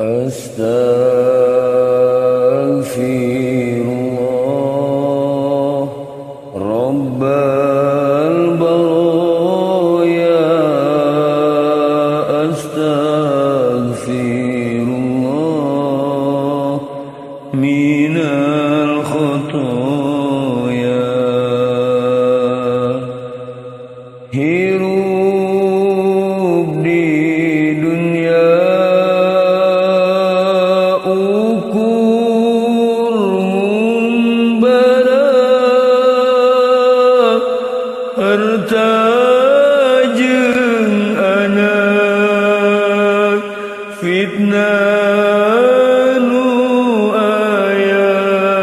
Astaghfirullah Rabbal baraya. Astaghfirullah minal khotoya. Hirup di dunia ukur mumbara, harta jeung anak fitnah nu aya.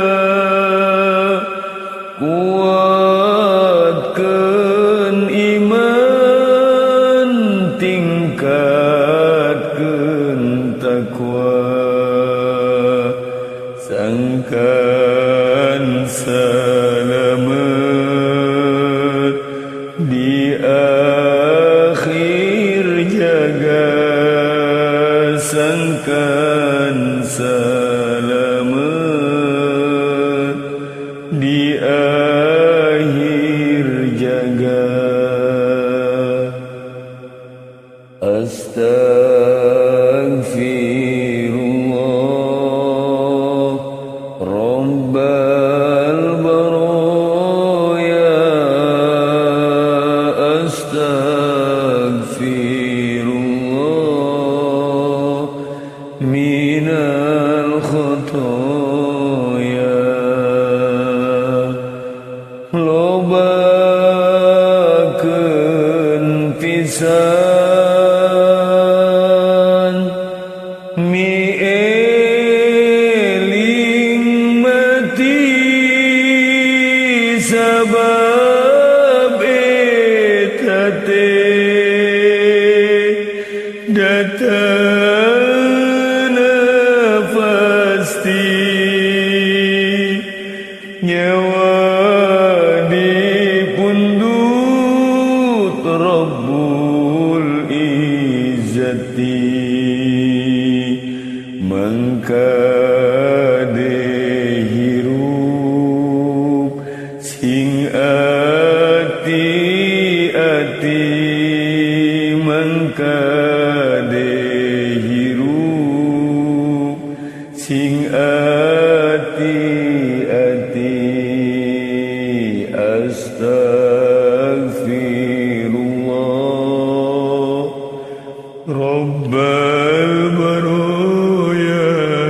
Kuatkeun iman, tingkatkeun takwa, sangkan salamet di akhir jaga. Sangkan salamet di akhir jaga. Astaghfirullah Rabbal baraya. Astaghfirullah minal khotoya. Lobakeun pisan mi eling mati, sabab eta teh datangna pasti. Nyawa dipundut Rabbul Izzati, mangka hirup sing ati-ati. Mangka hirup sing ati-ati. Astaghfirullah Rabbal baraya.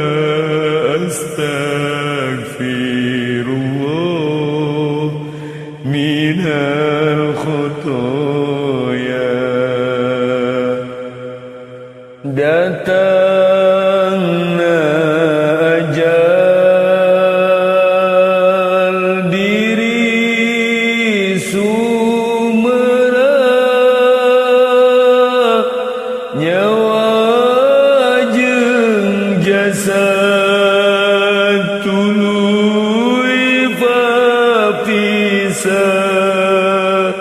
Astaghfirullah minal khotoya. Datangna ajal diri sumera, nyawa jeung jasad tuluy papisah.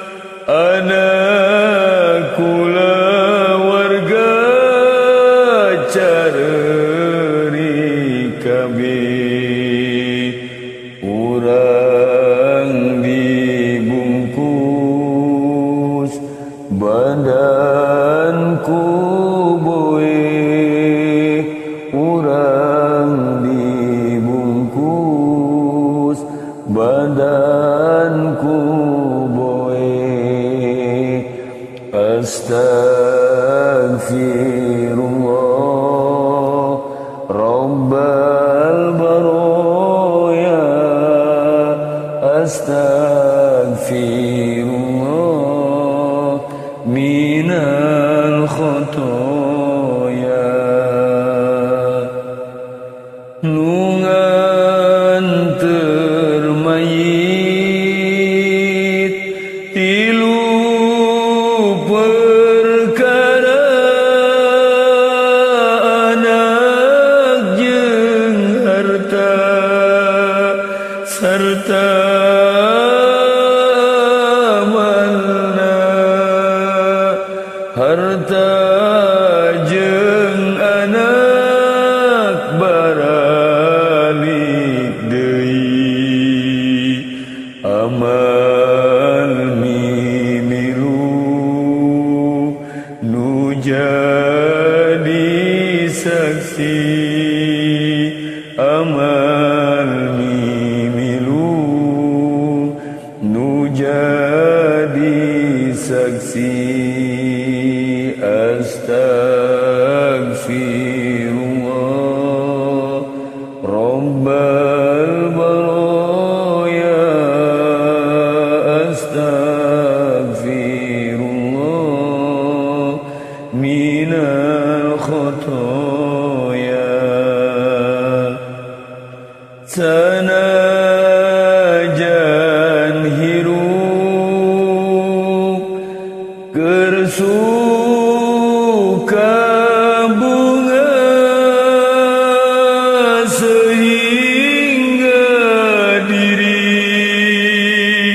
Anak kula warga careurik kabeh, urang dibungkus badanku boe. Urang dibungkus badanku boe. Astaghfirullah Rabbal baraya. Astaghfirullah minal khotoya. Nu nganteur mayit tilu perkara, anak jeung harta sarta harta jeung anak amal mimilu nu jadi saksi amal mimilu nu jadi saksi astagfirullah rabbal baraya astagfirullah minal khotoya sanajan hirup kersuka bunga sehingga diri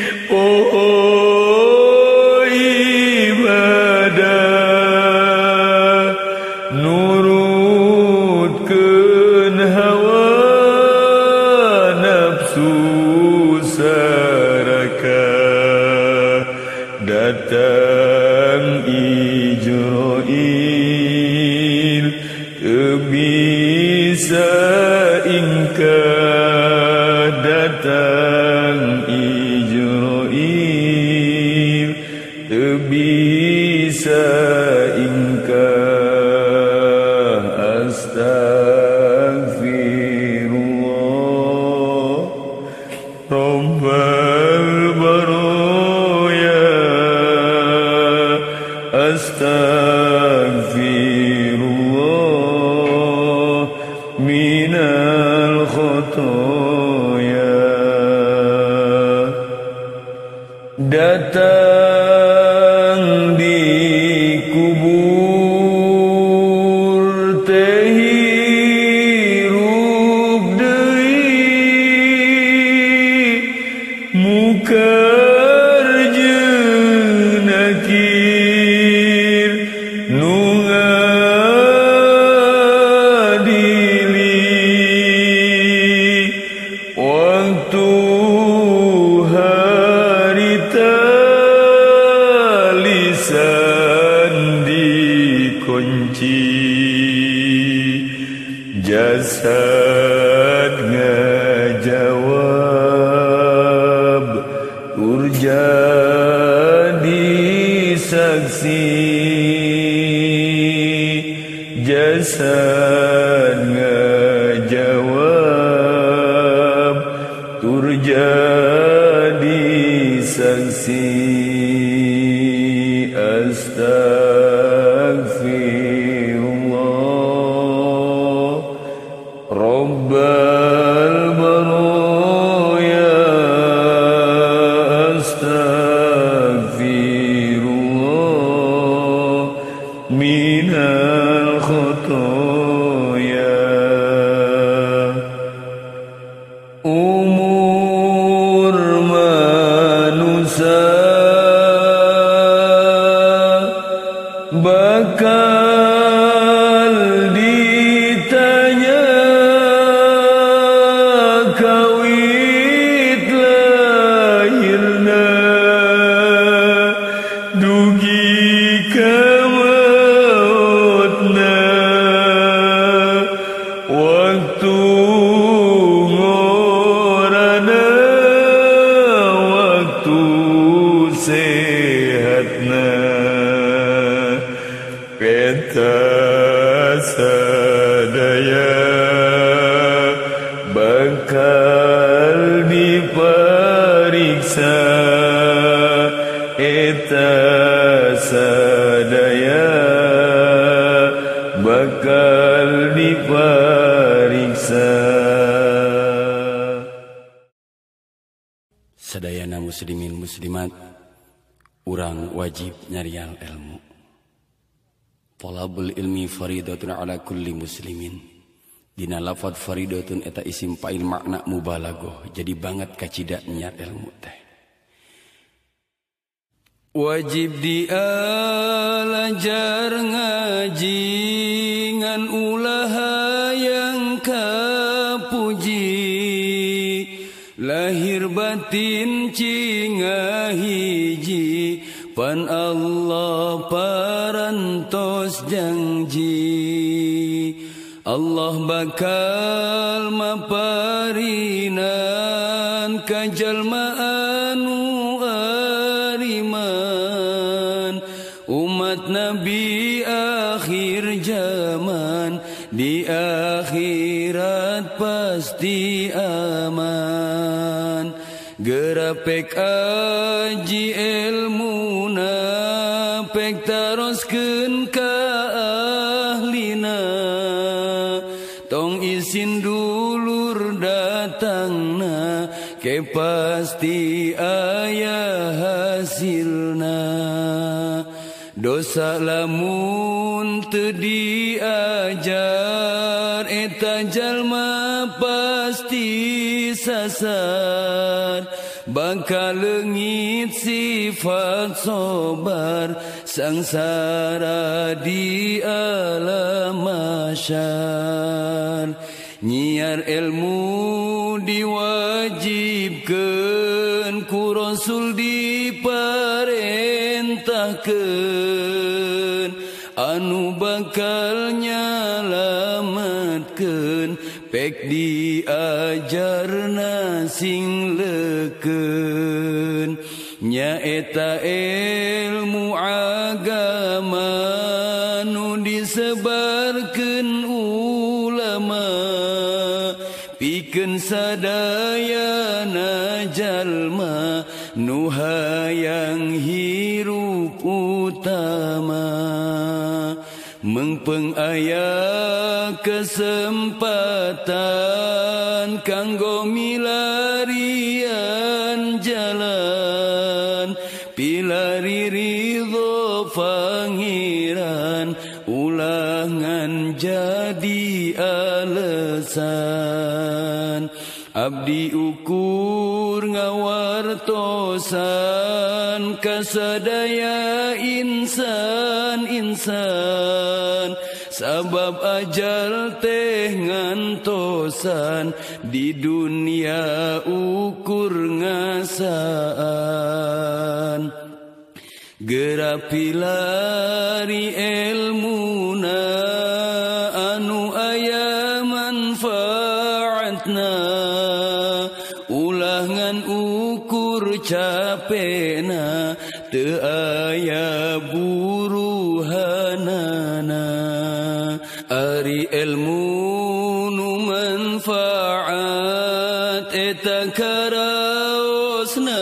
ibadah nurutkeun hawa nafsu saraka datang Ijroil teu bisa ingkar datang Ijroil teu bisa ingkar astagfirullah rabbal baraya astagfirullah minal khotoya datang di kubur teh hirup deui mukar jeung nakir nu ngadili waktu harita lisan dikunci jasad ngajawab urjadi saksi jasad ngajawab turjadi saksi astagfirullah rabbal baraya astagfirullah minal khotoya umur manusia bakal ditanya kawit lahirna dugi ka mautna waktu ngorana waktu sehatna peta sadaya bakal diperiksa eta sadaya bakal diperiksa sadayana muslimin muslimat urang wajib nyarial ilmu. Talabul ilmi faridatun ala kulli muslimin. Dina lafad faridatun eta isim fa'il makna mubalaghah. Jadi banget kacida nyar ilmu teh. Wajib dialajar ngaji ngan ulah yang kapuji lahir lahir batin cinga hiji pan Allah parantos janji Allah bakal maparinan ka jalma anu ariman umat Nabi akhir zaman di akhirat pasti aman gerapek aji ilmuna pek taroskeun ka ahlina tong isin dulur datangna ke pasti aya hasilna dosa lamun teu diajar eta jalma pasti sasar bakal leungit sifat sabar sangsara di alam mahsyar nyiar ilmu diwajibkeun ku Rasul diparentahkeun anu bakal nyalametkeun pek diajarna sing leukeun nyaeta ilmu agama nu disebarkeun ulama pikeun sadayana jalma nu hayang hirup utama mengpeng aya kesempatan kanggo milarian jalan pilari ridho pangeran ulangan jadi alasan abdi ukur ngawartosan kasadaya insan sabab ajal teh ngantosan di dunia ukur ngasaan gerapilari ilmuna anu aya manfaatna ulangan ukur capena teu aya buruhanana ari ilmu nu manfaat eta karaosna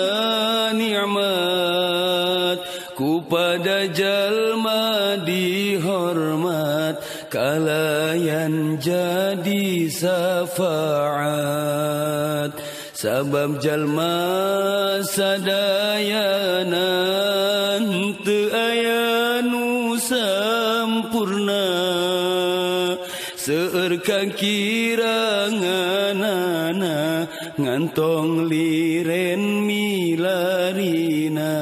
nikmat ku pada jalma dihormat kalayan jadi syafaat sabab jalma sadayana teu aya nu sampurna seueur kakiranganana ngantong liren milarina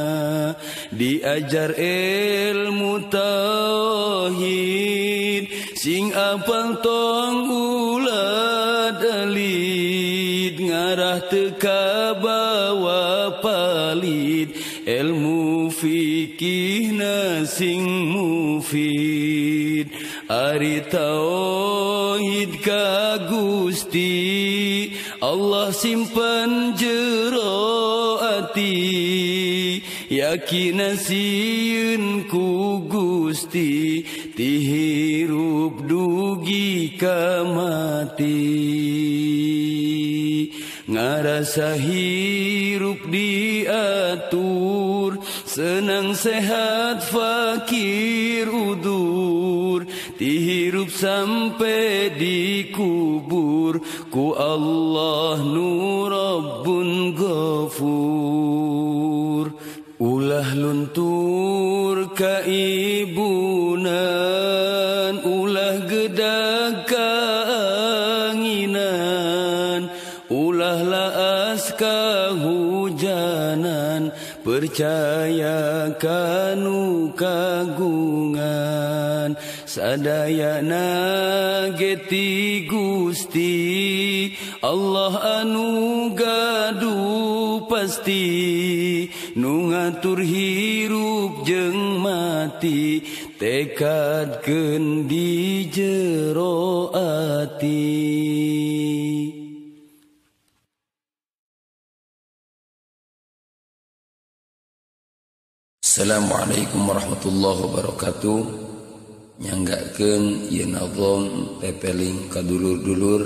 diajar ilmu tauhid sing apal tong ulah dalid ngarah teu kabawa palid ilmu fikihna sing mufid ari tauhid ka Gusti Allah simpen jero ati yakin sieun ku Gusti ti hirup dugi ka mati ngarasa hirup diatur senang sehat fakir udur dihirup sampai dikubur ku Allah nu Rabbun Ghafur ulah luntur kaibunan ulah gedag kaanginan ulah laas kahujanan percaya kanu kagungan sadayana geti Gusti Allah anu gaduh pasti nu ngatur hirup jeung mati tekadkeun di jero ati. Assalamualaikum warahmatullahi wabarakatuh. Nyanggakeun ieu nazom pepeling ka dulur-dulur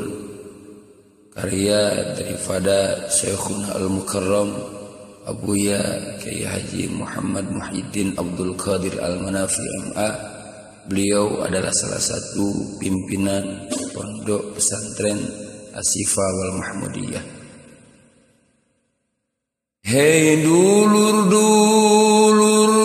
karya daripada Syekhuna Al-Mukarram Abuya Kyai Haji Muhammad Muhyiddin Abdul Qadir Al-Manafi MA. Beliau adalah salah satu pimpinan pondok pesantren Asyifa wal Mahmudiyah. Hei dulur-dulur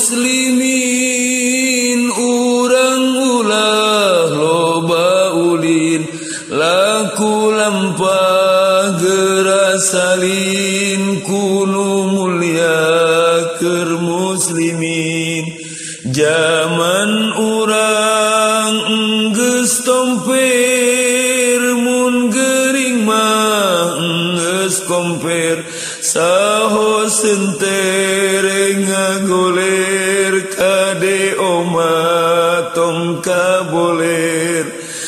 muslimin, urang ulah loba ulin, laku lampah gerasalin, kunu mulia keur muslimin. Zaman urang geus tomper, mun gering mah geus komper. Saho sentere ngagoler, kade oma tong kaboler.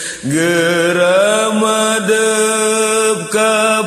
Geramadep ka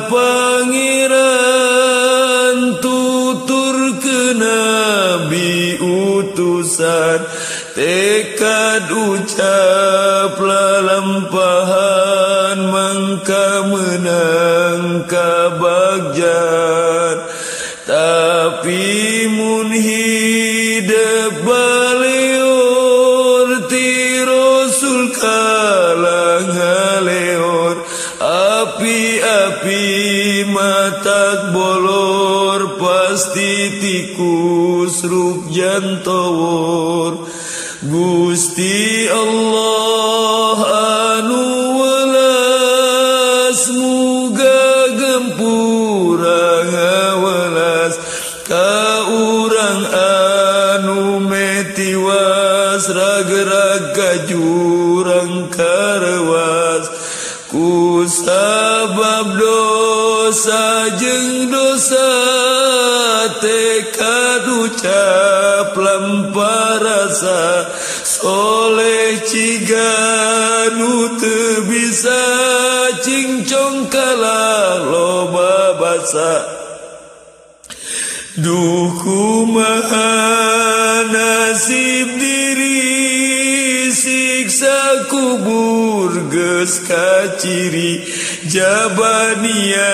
pangeran, tutur ke nabi utusan. Tekad ucap lalampahan, mangka menang kabagjan. Tapi mun hidep baleor, ti Rasul kalang ngaleor. Api-api matak bolor, pasti tikus ruk jantowor. Gusti Allah anu welas, muga gempura ngawelas ka urang anu metiwas, ragerag ka jurang karewas. Ku sabab dosa jeung dosa, tekad ucap lampah rasa. Soleh ciga nu teu bisa, cingcong kalah loba basa. Duh kumaha nasib diri, siksa kubur geus kaciri. Jabania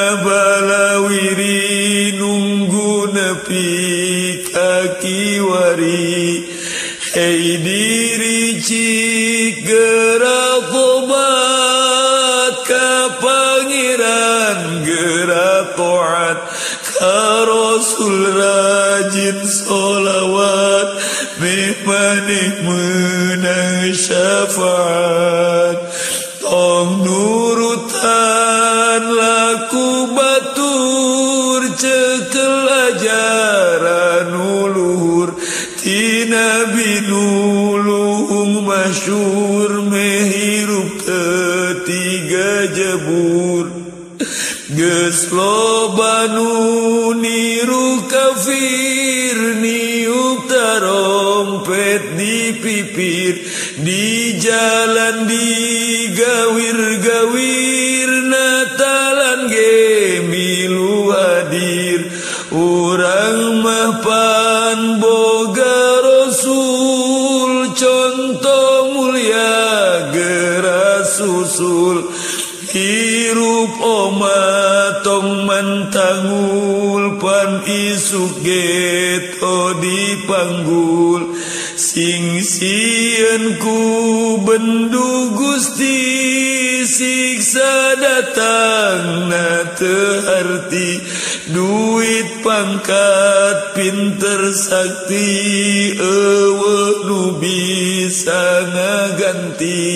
balawiri, nunggu nepi ka kiwari. Hei diri cik gerak tobat ka pangeran, gerak taat ka Rasul, rajin solawat, maneh menang syafaat. Tong nurutan laku batur, cekel ajaran uluhur. Ti Nabi nulung masyur, mehirup ketiga jebur. Geus loba nu niru kafir, niup tarompet di pipir. Di jalan digawir-gawir, natalan ge milu hadir. Urang mah pan boga Rasul, contoh mulia geras susul. Hirup oma tong mantangul, pan isuk geto dipanggul. Sing sieun ku bendu Gusti, siksa datang na teu arti. Duit pangkat pinter sakti, eueuh nu bisa ngaganti.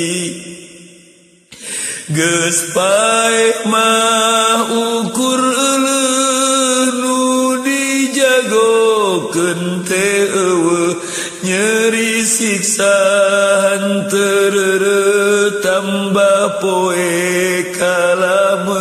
Geus paeh mah ukur euleuh, nu dijagokeun teh eueuh. Nyeri siksa hanteureureut, tambah poe kalam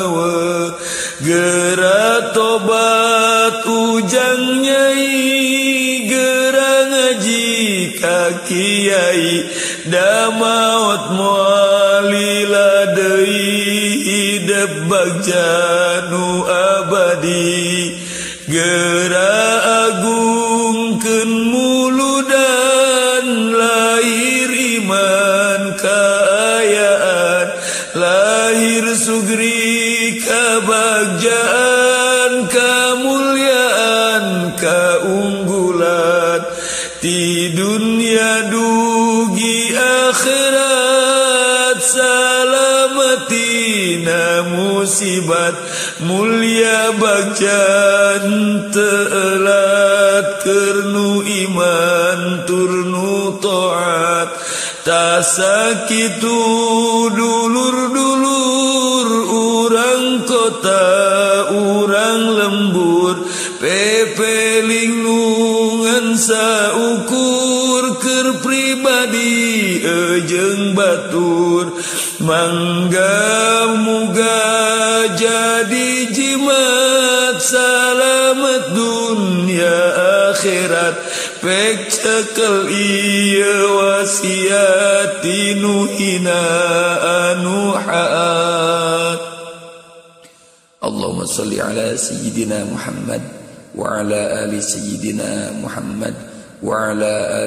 tobat ujang nyai gerang ngaji ka kiai da maot moalila deui hidup bagja nu abadi gera agungkeun muludan lahir iman kaayaan lahir sugri kabagjaan kamulyaan kaunggulan di dunia dugi akhirat salamatina musibat mulia bagjan telat kernu iman turnu taat tasakitu dulur-dulur urang kota urang lembur pepeling nungan saukur keur pribadi ejeng batur mangga muga jadi jimat salamet dunia akhirat pek cekel ieu wasiat nu hina anu haat. Allahumma shalli ala sayyidina Muhammad wa ala ali sayyidina Muhammad wa ala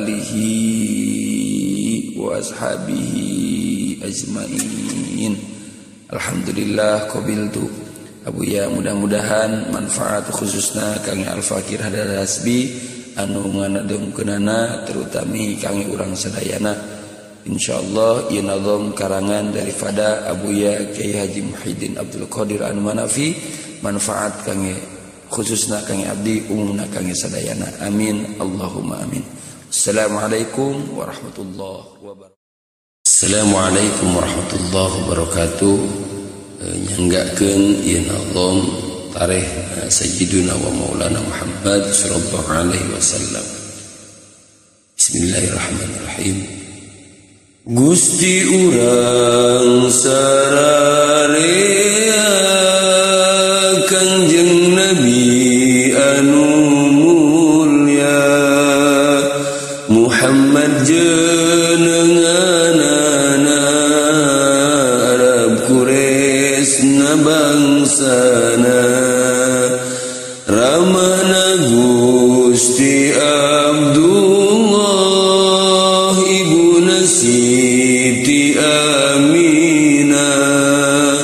alihi wa ashabihi ajmain. Alhamdulillah qabiltu Abuya, mudah-mudahan manfaat khususna kangge Al-Fakir Hadar Hasbi anu nganadengkeunana terutami kangge urang sadayana. Insyaallah ieu nazam karangan daripada Abuya Kiai Haji Muhyiddin Abdul Qadir Al-Manafi manfaat kangge khususna kangge abdi umumna kangge sadayana. Amin Allahumma amin. Assalamualaikum warahmatullahi wabarakatuh. Assalamualaikum warahmatullahi wabarakatuh. Nyanggakeun ieu nazam tarikh Sayyiduna wa Maulana Muhammad sallallahu alaihi wasallam. Bismillahirrahmanirrahim. Gusti urang sararea Kangjeng Nabi anu mulya Muhammad jenenganana Arab Quraisy bangsana ramana Gusti Abdullah ibuna Siti Aminah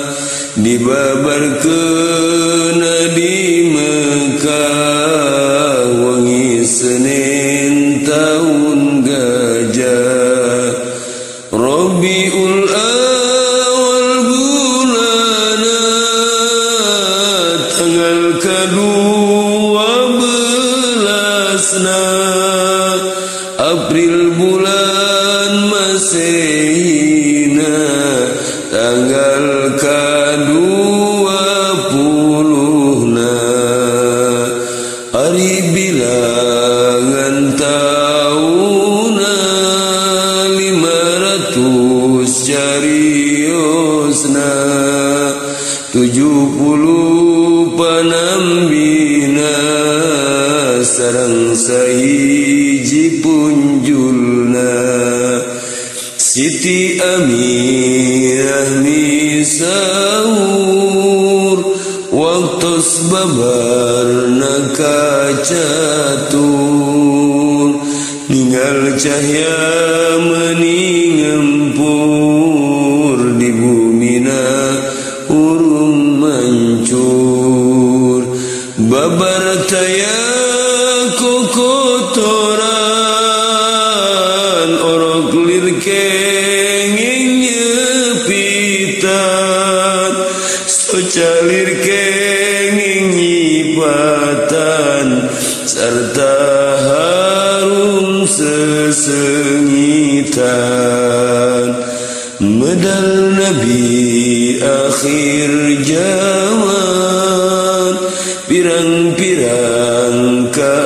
dibabarkeun di Mekah wengi Senin taun gajah Rabiul Awal bulana tanggal ke-12 April bulan Masehina tanggal ke-20 hari bilangan tauna 500 cariosna 70 panambina sareng sahiji punjulna Siti Aminah misaur waktos babarna kacatur ninggal cahya meuning ngempur di bumina urung mancur babar taya kokotoran orok lir kenging nyepitan socalir kenging nyipatan serta harum sesengitan medal Nabi akhir zaman pirang-pirang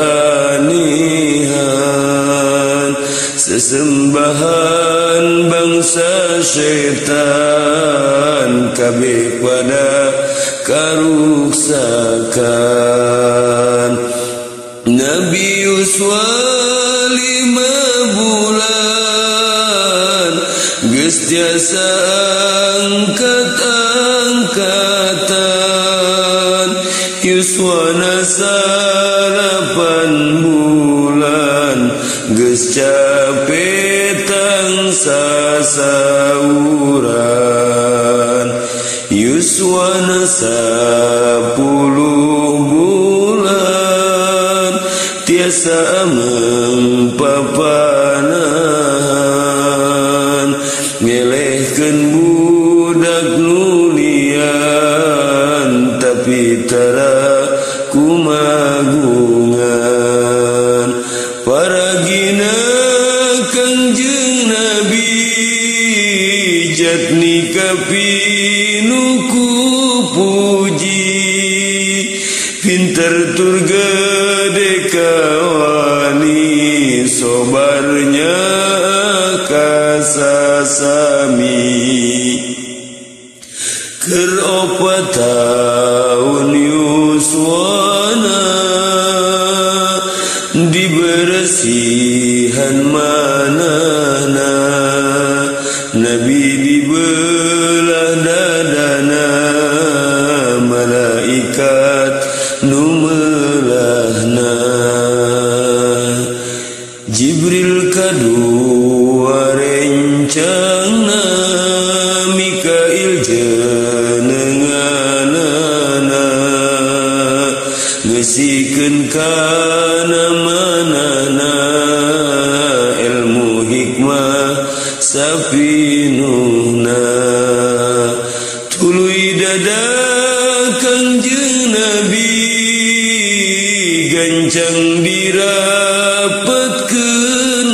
keanehan sesembahan bangsa setan kabeh pada karuksakan. Nabi Yuswa 5 bulan geus tiasa angkat-angkatan. Yuswana 8 bulan geus capek tangsa sauran. Yuswana 10 bulan tiasa mempapanahan. Ngelehkeun budak nulian tapi tara kumagungan. Paragina Kangjeng Nabi jatni kapinuku puji. Pinter tur gede kawani sobarnya kasasami. Keur 4 tahun Yuswana diberesihan manana. Nabi dibelah dadana malaikat numelahna. Jibril kadua rencana Mikail jenenganana ngesikeun kana manana ilmu hikmah sapinuhna. Tuluy dada Kangjeng Nabi gancang dirapetkeun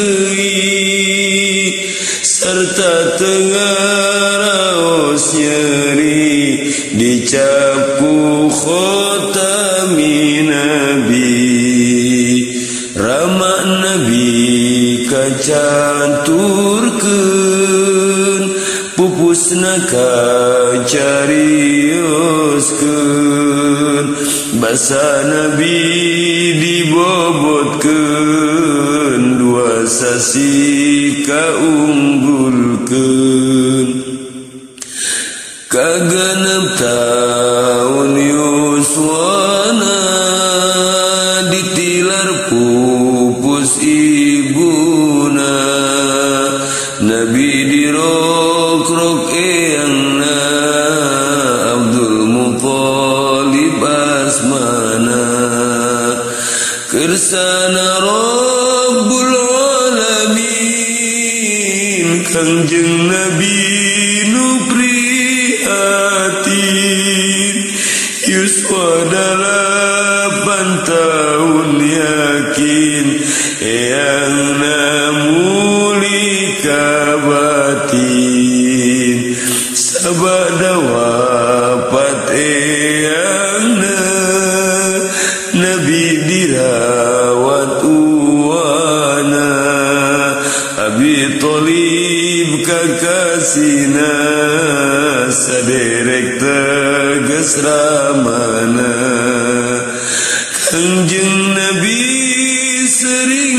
deui sarta tengaraos nyeri dicap ku khotami Nabi. Rama Nabi kacaturkeun pupusna kacarioskeun. Basa Nabi dibobotkeun 2 sasi kaunggulkeun. Kagenep taun Yuswana ditilar pupus ibuna. Nabi dirokrok eyangna Abdul Muthalib asmana. Kersana Rabbul Alamin Kangjeng Nabi nu prihatin. Yuswa 8 tahun yakin eyangna muli kabatin. Sabada wafat eyangna Nabi dirawat uwana. Abi Thalib kakasina saderek teges ramana. Kangjeng Nabi sering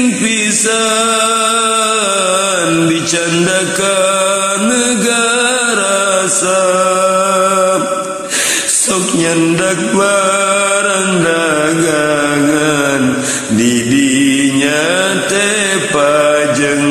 pisan dicandakan negara Sam. Sok nyandak barang dagangan didinya teh pajeng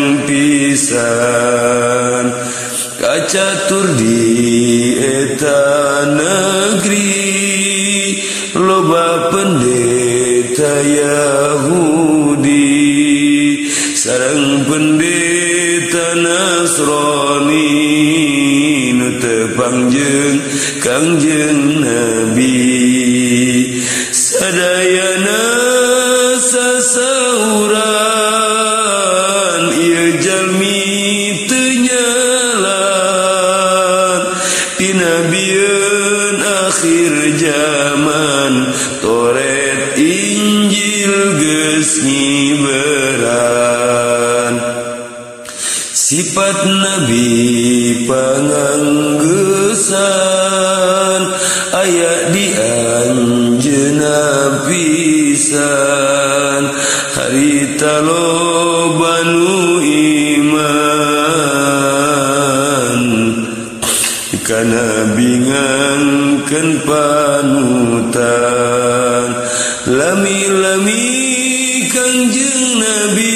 pisan. Kacatur di eta negeri loba pendeta Yahudi sareng pendeta Nasrani nu teu pangjeng Kangjeng Nabi. Sadayana sasauran ieu jalmi teu nyalan dinabieun akhir zaman. Toret Injil geus nyiberan. Sifat Nabi panganggesan aya di anjeunna pisan harita loba nu iman kana bingangkeun panutan lami-lami Kangjeng Nabi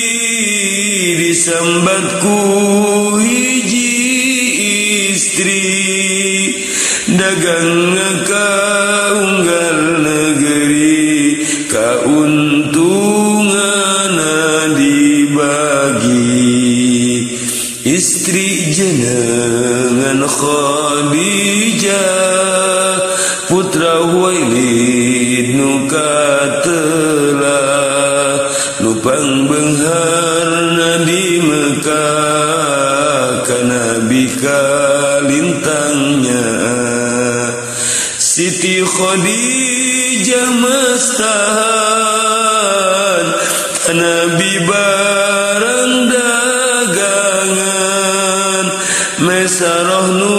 disambat ku hiji istri dagang kaunggal negeri kauntunganna dibagi istri jenengan Khadijah putra Huwailid nu katelah nupang beungharna di Mekah kana Nabi kalintangnya Siti Khadijah mastahan Nabi barang dagangan Mesarah nu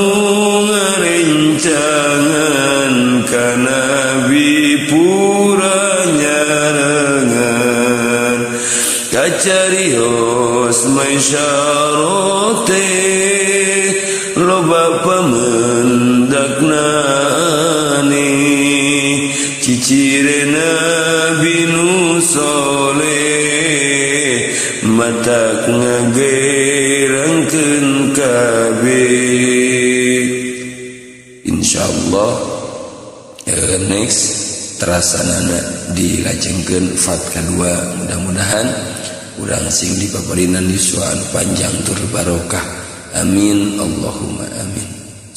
ngarencangan ka Nabi pura nyarengan kacarios maisyarote loba pamendakna cicire Nabi nu soleh matak ngagerangkeun kabeh. Insyaallah next terasanana dilajengkeun fat kedua mudah-mudahan urang sing dipaparinan yuswa panjang tur barokah amin Allahumma amin.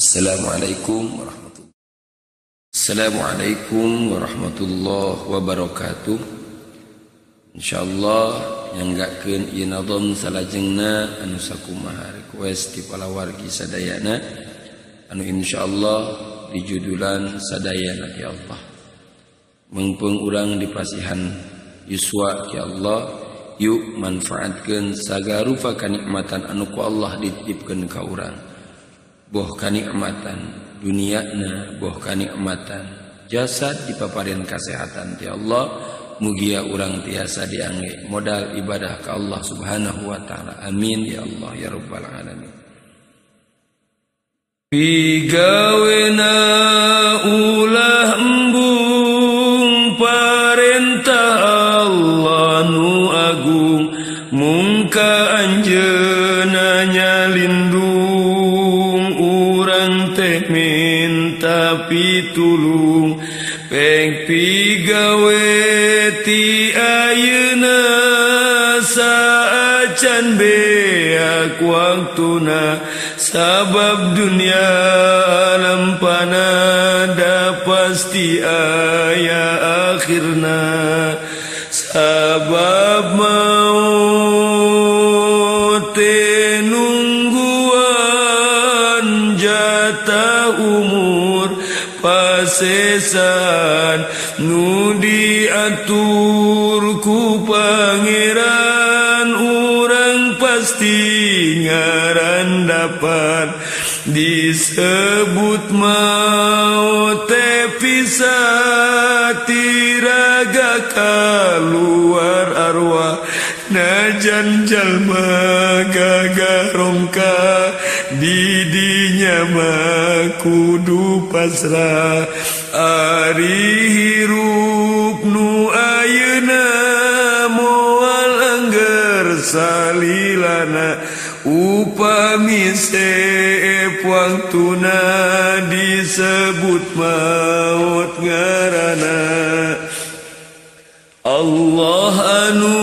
Assalamualaikum warahmatullahi wabarakatuh. Insyaallah nyanggakeun ieu nadom salajengna anu sakumaha request ti palawargi sadayana anu insyaallah dijudulan sadayana ya Allah. Mengpeung urang dipasihan yuswa ya Allah, yuk manfaatkeun sagarupa kanikmatan anu ku Allah dititipkeun ka urang. Boh kanikmatan duniana, boh kanikmatan jasad dipaparin kesehatan ti Allah, mugia urang tiasa diangge modal ibadah ka Allah Subhanahu wa taala. Amin ya Allah ya rabbal alamin. Pigawena ulah embung parentah Allah nu agung mungka anjeunna nyalindung urang teh minta pitulung peng pigawe ti ayeuna saacan beak waktuna sabab dunia lampana da pasti aya akhirna sabab maut nungguan jatah umur pasesan nu diatur ku pangeran urang pasti ngaran dapat disebut maut pisah tiraga kaluar arwah najan jalma gagarongka didinya mah kudu pasrah ari hirup nu ayeuna moal angger salilana upami seep waktuna disebut maut ngarana Allah anu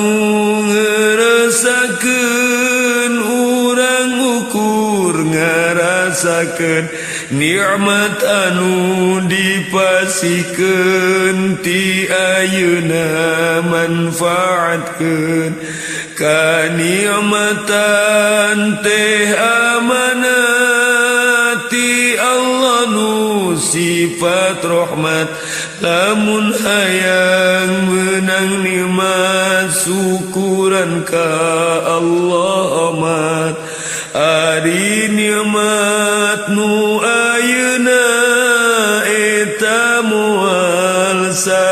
ngerasakeun urang ukur ngarasakeun nikmat anu dipasikeun ti ayeuna manfaatkeun kanikmatan teh amanati Allah nu sifat rahmat lamun hayang menang nikmat syukuran ka Allah amat ari nikmat nu ayeuna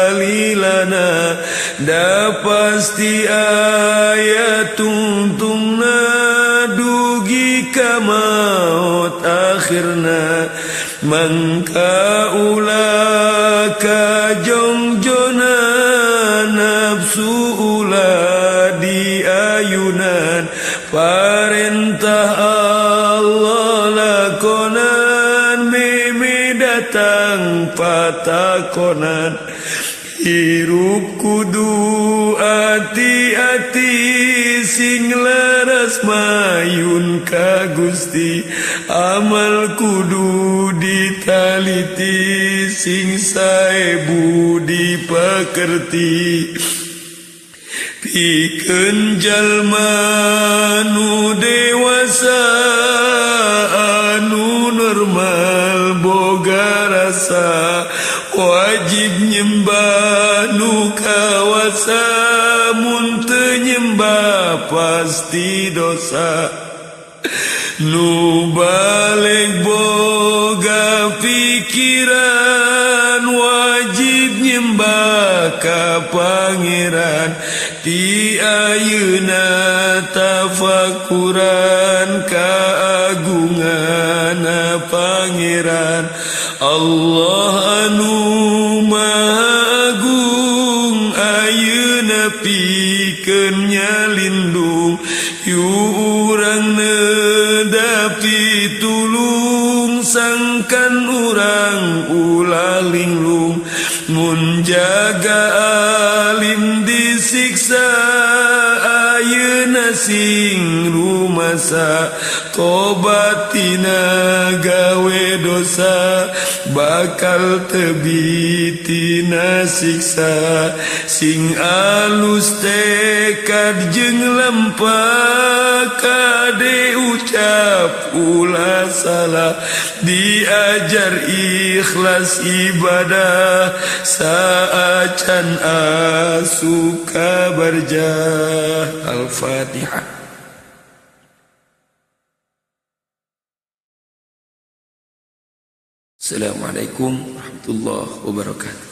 salilana da pasti aya tungtungna dugi ka maut akhirna mangka ulah ka jongjona nafsu ulah di ayunan parentah Allah lakonan meme datang patakonan hirup kudu ati-ati sing laras mayun ka Gusti amal kudu ditaliti sing saebu dipakerti pikeun jalma nu dewasa anu normal boga rasa wajib nyembah nu kawasa mun teu nyembah pasti dosa nu balik boga pikiran wajib nyembah ka pangeran ti ayeuna tafakuran kaagungan pangeran Allah anu maha agung ayeuna pikeun nyalindung yu urang nedapi tulung sangkan urang ulah linglung mun jaga alim disiksa ayeuna sing rumasa tobatina gawe dosa bakal tebitina siksa sing alus tekad jeung lempah kade ucap ulah salah diajar ikhlas ibadah saacan asuka barjah Al-Fatihah. Assalamualaikum warahmatullahi wabarakatuh.